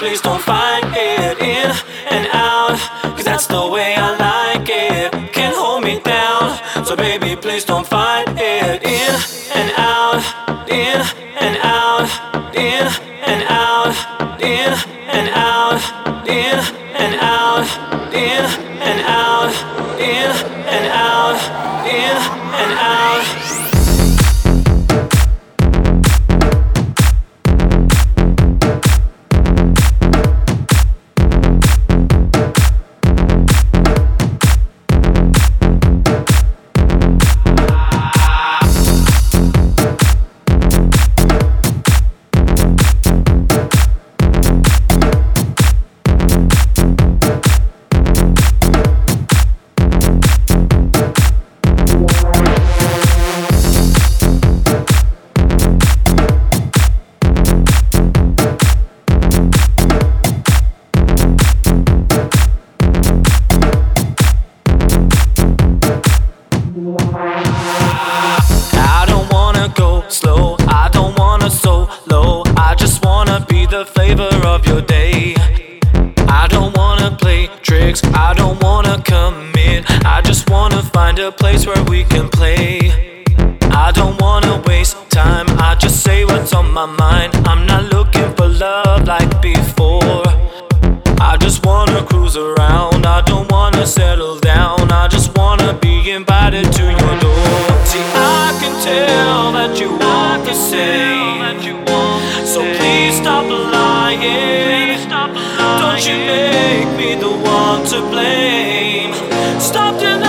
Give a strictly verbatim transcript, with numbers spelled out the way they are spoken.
please don't fight it. In and out, cause that's the way I like it. Can't hold me down, so baby please don't fight it. In and out, in and out, in and out, in and out, in and out, in and out, in and out, in and out. I don't wanna go slow, I don't wanna solo, I just wanna be the flavor of your day. I don't wanna play tricks, I don't wanna commit, I just wanna find a place where we can play. I don't wanna waste time, I just say what's on my mind. I'm not looking for love like before, I just wanna cruise around, I don't wanna settle down, I just wanna be invited to your door. See, I can tell that you want the same, so please stop lying. Don't you make me the one to blame. Stop denying.